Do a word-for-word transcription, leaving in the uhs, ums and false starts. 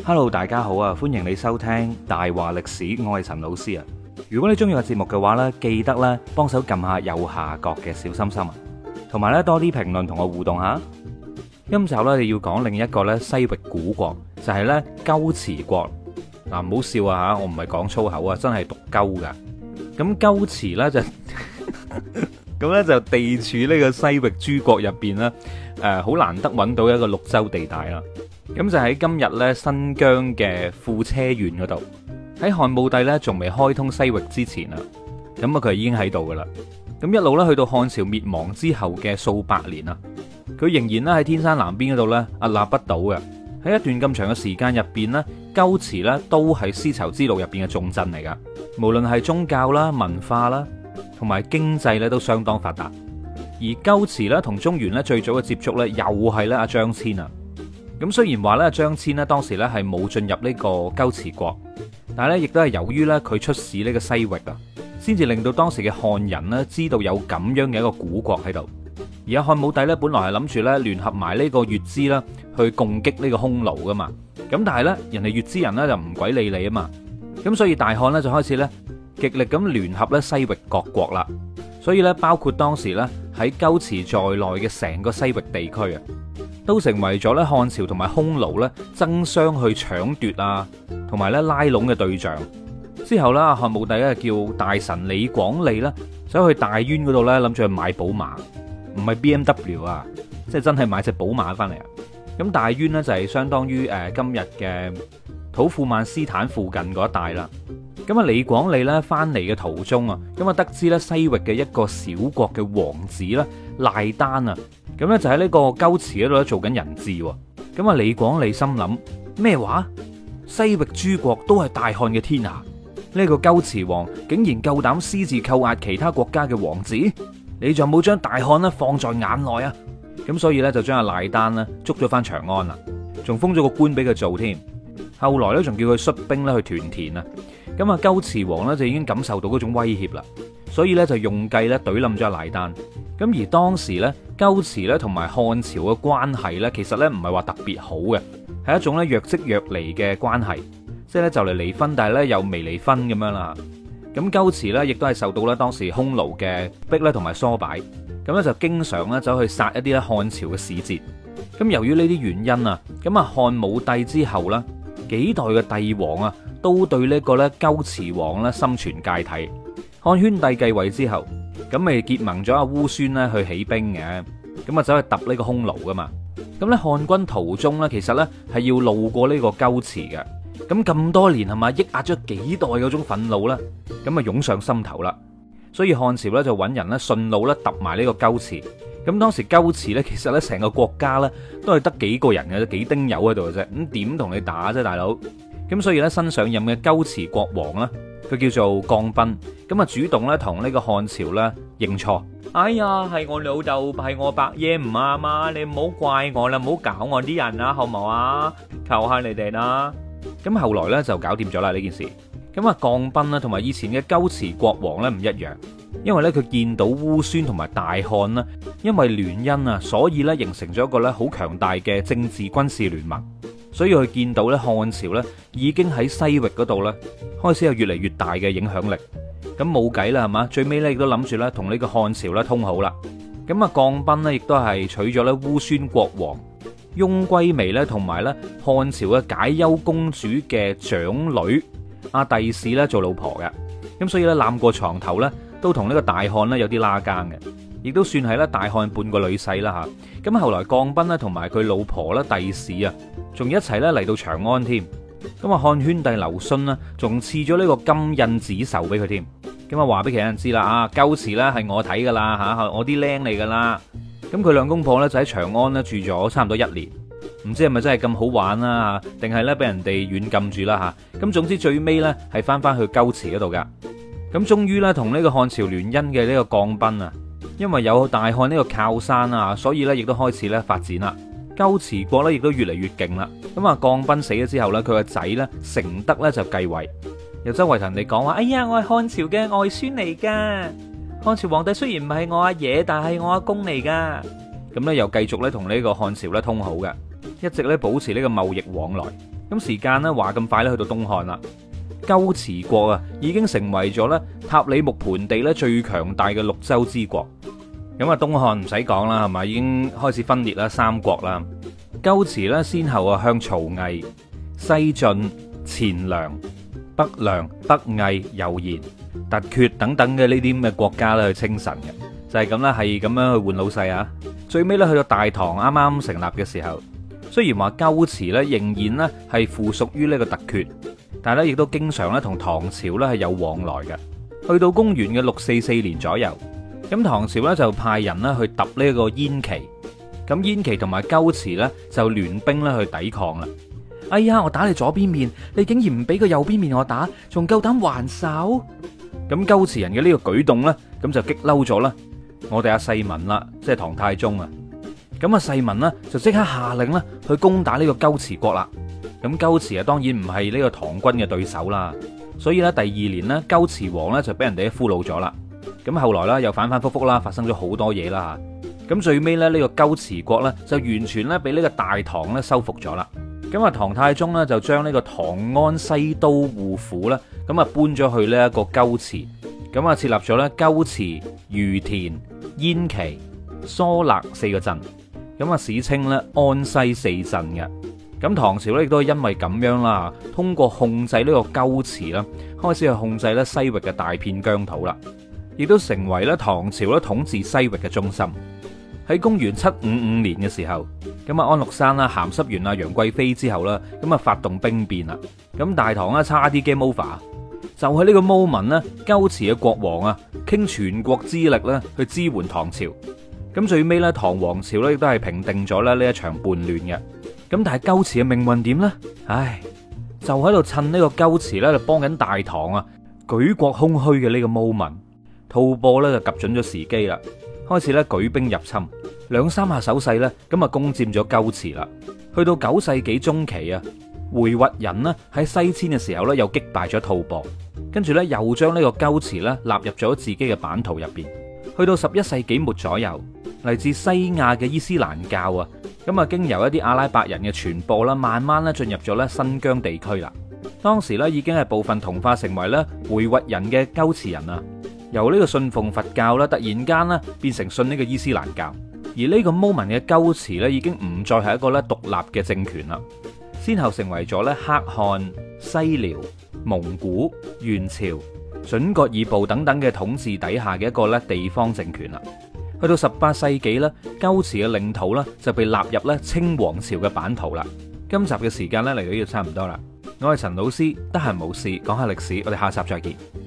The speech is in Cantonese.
Hello，大家好啊，歡迎你收聽大話歷史，我係陳老師啊。如果你中意個節目嘅話呢，記得咧幫手撳下右下角嘅小心心啊，同埋咧多啲評論同我互動下。今集咧你要講另一個咧西域古國，就係咧龜茲國。嗱，唔好笑啊吓，我唔係講粗口啊，真係讀鳩噶。咁龜茲咧就咁咧就地處呢個西域諸國入邊啦，誒，好難得揾到一個綠洲地帶啦。咁就喺今日咧新疆嘅庫車縣嗰度，喺漢武帝咧仲未開通西域之前啊，咁啊佢已經喺度噶啦。咁一路咧去到漢朝滅亡之後嘅數百年啊，佢仍然咧喺天山南邊嗰度咧屹立不倒嘅。喺一段咁長嘅時間入邊咧，龜茲咧都係絲綢之路入邊嘅重鎮嚟噶。無論係宗教啦、文化啦，同埋經濟咧都相當發達。而龜茲咧同中原咧最早嘅接觸咧，又係咧阿張騫啊。咁雖然話咧張騫咧當時咧係冇進入呢個龜茲國，但係咧亦都係由於咧佢出使呢個西域啊，先至令到當時嘅漢人咧知道有咁樣嘅一個古國喺度。而阿漢武帝咧本來係諗住咧聯合埋呢個月支啦去攻擊呢個匈奴噶嘛，咁但係咧人哋月支人咧就唔鬼理你啊嘛，咁所以大漢咧就開始咧極力咁聯合咧西域各國啦。所以咧包括當時咧喺龜茲在內嘅成個西域地區啊，都成為咗咧漢朝同埋匈奴咧爭相去搶奪啊，同埋咧拉攏嘅對象。之後咧，漢武帝咧叫大臣李廣利啦，走去大宛嗰度咧諗住去買寶馬，唔係 B M W 啊，即係真係買隻寶馬翻嚟啊。咁大宛呢，就係相當於誒今日嘅土庫曼斯坦附近嗰一帶啦。咁啊，李廣利咧翻嚟嘅途中啊，咁啊得知咧西域嘅一個小國嘅王子啦賴丹啊，咁咧就喺呢個龜茲嗰度咧做緊人質。咁啊，李廣利心諗咩話？西域諸國都係大漢嘅天下，呢個龜茲王竟然夠膽私自扣押其他國家嘅王子，你仲冇將大漢咧放在眼內啊？咁所以咧就將阿賴丹咧捉咗翻長安啦，仲封咗個官俾佢做添。後來咧仲叫佢率兵咧去屯田啊。咁啊，龜茲王咧就已經感受到嗰種威脅啦，所以咧就用計咧懟冧咗阿賴丹。咁而當時咧龜茲咧同埋漢朝嘅關係咧，其實咧唔係話特別好嘅，係一種咧若即若離嘅關係，即係咧就嚟離婚，但係咧又未離婚咁樣啦。咁龜茲咧亦都係受到咧當時匈奴嘅逼咧同埋唆擺，咁咧就經常咧走去殺一啲咧漢朝嘅使節。咁由於呢啲原因啊，咁啊漢武帝之後啦，幾代嘅帝王啊，都對呢個咧龜茲王咧心存芥蒂。漢宣帝繼位之後，咁咪結盟咗阿烏孫咧去起兵嘅，咁啊走去揼呢個匈奴噶嘛。咁咧漢軍途中咧，其實咧係要路過呢個龜茲嘅。咁咁多年係咪抑壓咗幾代嗰種憤怒咧？咁啊湧上心頭啦。所以漢朝咧就揾人咧順路咧揼埋呢個龜茲。咁當時龜茲咧其實咧成個國家咧都係得幾個人嘅，幾丁友喺度嘅啫。咁點同你打啫，大佬？咁所以咧新上任嘅龜茲國王啦，佢叫做降賓，咁啊主動咧同呢個漢朝咧認錯。哎呀，係我老豆，係我伯爺唔啱啊！你唔好怪我啦，唔好搞我啲人啦，好唔好啊？求下你哋啦。咁後來咧就搞掂咗啦呢件事。咁啊降賓啦，同埋以前嘅龜茲國王咧唔一樣，因為咧佢見到烏孫同埋大漢啦，因為聯姻啊，所以咧形成咗一個咧好強大嘅政治軍事聯盟。所以佢見到咧漢朝咧已經喺西域嗰度咧開始有越嚟越大嘅影響力，咁冇計啦係嘛，最尾咧亦都諗住咧同呢個漢朝咧通好啦。咁啊降賓咧亦都係娶咗咧烏孫國王翁歸微咧同埋咧漢朝嘅解憂公主嘅長女阿弟氏咧做老婆嘅，咁所以咧攬過床頭咧都同呢個大漢咧有啲拉更嘅，亦都算係咧大漢半個女婿啦吓。咁後來降賓咧同埋佢老婆咧弟氏啊，仲一齊咧嚟到長安添。咁啊漢宣帝劉詢呢，仲賜咗呢個金印紫綬俾佢添。咁啊話俾其他人知啦，啊龜茲咧係我睇噶啦吓，我啲靚嚟噶啦。咁佢兩公婆咧就喺長安咧住咗差唔多一年，唔知係咪真係咁好玩啦，定係咧俾人哋軟禁住啦吓。咁總之最尾咧係翻翻去龜茲嗰度噶。咁終於咧同呢個漢朝聯姻嘅呢個降賓啊，因為有大漢呢個靠山啊，所以咧亦都開始咧發展啦。龜茲國咧亦都越嚟越勁啦。咁啊降賓死咗之後咧，佢個仔咧成德咧就繼位，又周圍同人哋講話：哎呀，我係漢朝嘅外孫嚟噶。漢朝皇帝雖然唔係我阿爺，但係我阿公嚟噶。咁咧又繼續咧同呢個漢朝咧通好嘅，一直咧保持呢個貿易往來。 咁時間呢話咁快咧去到東漢啦，龜茲國啊已經成為咗咧塔里木盆地咧最強大嘅綠洲之國。咁啊東漢唔使講啦，係咪已經開始分裂啦三國啦。龜茲咧先後啊向曹魏、西晉、前涼、北涼、北魏、柔然、突厥等等嘅呢啲咁嘅國家咧去稱臣嘅，就係咁啦，係咁樣去換老細啊。最尾咧去到大唐啱啱成立嘅時候，雖然話龜茲咧仍然咧係附屬於呢個突厥，但係咧亦都經常咧同唐朝咧係有往來嘅。去到公元嘅六四四年左右，咁唐朝咧就派人咧去揼呢個燕岐，咁燕岐同埋龜茲咧就聯兵咧去抵抗啦。哎呀，我打你左邊面，你竟然唔俾個右邊面我打，仲夠膽還手？咁龜茲人嘅呢個舉動咧，咁就激嬲咗啦我哋阿世民啦，即係唐太宗啊。咁啊世民呢，就即刻下令咧去攻打呢個龜茲國啦。咁龜茲啊當然唔係呢個唐軍嘅對手啦，所以咧第二年呢，龜茲王咧就俾人哋俘虜咗啦。咁後來咧又反反复复啦，發生咗好多嘢啦吓。咁最尾咧呢個龜茲國咧就完全咧俾呢個大唐咧收復咗啦。咁啊，唐太宗咧就將呢個唐安西都護府咧，咁啊搬咗去呢一個龜茲，咁啊設立咗咧龜茲、于田、燕岐、疏勒四個鎮，咁啊史稱咧安西四鎮嘅。咁唐朝咧亦都係因為咁樣啦，通過控制呢個龜茲啦，開始去控制咧西域嘅大片疆土啦，亦都成為咧唐朝咧統治西域嘅中心。喺公元七五五年嘅時候，咁啊安祿山啦鹹濕完啊楊貴妃之後啦，咁啊發動兵變啦，咁大唐咧差啲 game over，就喺呢個 moment 咧，龜茲嘅國王啊傾全國之力咧去支援唐朝，咁最尾咧唐王朝咧亦都係平定咗咧呢一場叛亂嘅。咁但係龜茲嘅命運點呢？唉，就喺度趁呢個龜茲咧就幫緊大唐啊舉國空虛嘅呢個 moment， 吐蕃咧就及準咗時機啦，開始咧舉兵入侵，兩三下手勢咧，咁啊攻佔咗龜茲啦。去到九世紀中期啊，回鶻人呢喺西遷嘅時候咧，又擊敗咗吐蕃，跟住咧又將呢個龜茲咧納入咗自己嘅版圖入邊。去到十一世紀末左右，嚟自西亞嘅伊斯蘭教啊，咁啊經由一啲阿拉伯人嘅傳播啦，慢慢咧進入咗咧新疆地區啦。當時咧已經係部分同化成為咧回鶻人嘅龜茲人啊。由呢個信奉佛教啦，突然間咧變成信呢個伊斯蘭教，而呢個 moment 嘅龜茲咧已經唔再係一個咧獨立嘅政權啦，先後成為咗咧可汗、西遼、蒙古、元朝、準噶爾部等等嘅統治底下嘅一個咧地方政權啦。去到十八世紀咧，龜茲嘅領土咧就被納入咧清王朝嘅版圖啦。今集嘅時間咧嚟到呢度差唔多啦，我係陳老師，得閒冇事講下歷史，我哋下集再見。